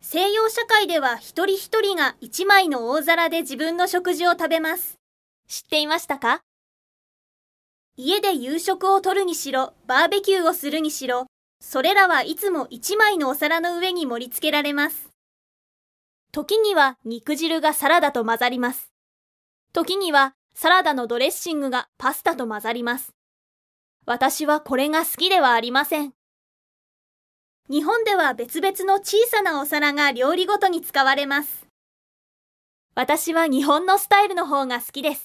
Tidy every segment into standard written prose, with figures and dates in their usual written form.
西洋社会では一人一人が一枚の大皿で自分の食事を食べます。知っていましたか？家で夕食をとるにしろ、バーベキューをするにしろ、それらはいつも一枚のお皿の上に盛り付けられます。時には肉汁がサラダと混ざります。時にはサラダのドレッシングがパスタと混ざります。私はこれが好きではありません。日本では別々の小さなお皿が料理ごとに使われます。私は日本のスタイルの方が好きです。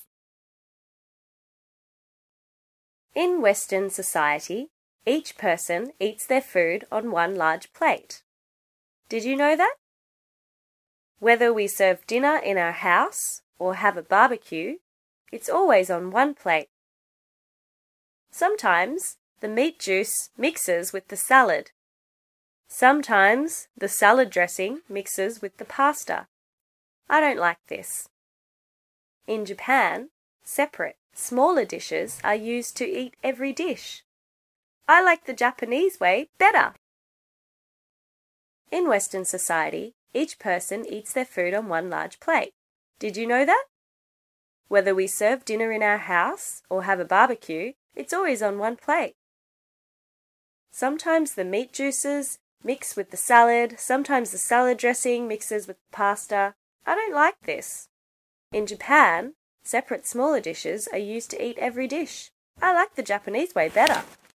In Western society, each person eats their food on one large plate. Did you know that? Whether we serve dinner in our house or have a barbecue, it's always on one plate. Sometimes the meat juice mixes with the salad. Sometimes the salad dressing mixes with the pasta. I don't like this. In Japan, separate, smaller dishes are used to eat every dish. I like the Japanese way better. In Western society, each person eats their food on one large plate. Did you know that? Whether we serve dinner in our house or have a barbecue, it's always on one plate. Sometimes the meat juices mix with the salad, sometimes the salad dressing mixes with the pasta. I don't like this. In Japan, separate smaller dishes are used to eat every dish. I like the Japanese way better.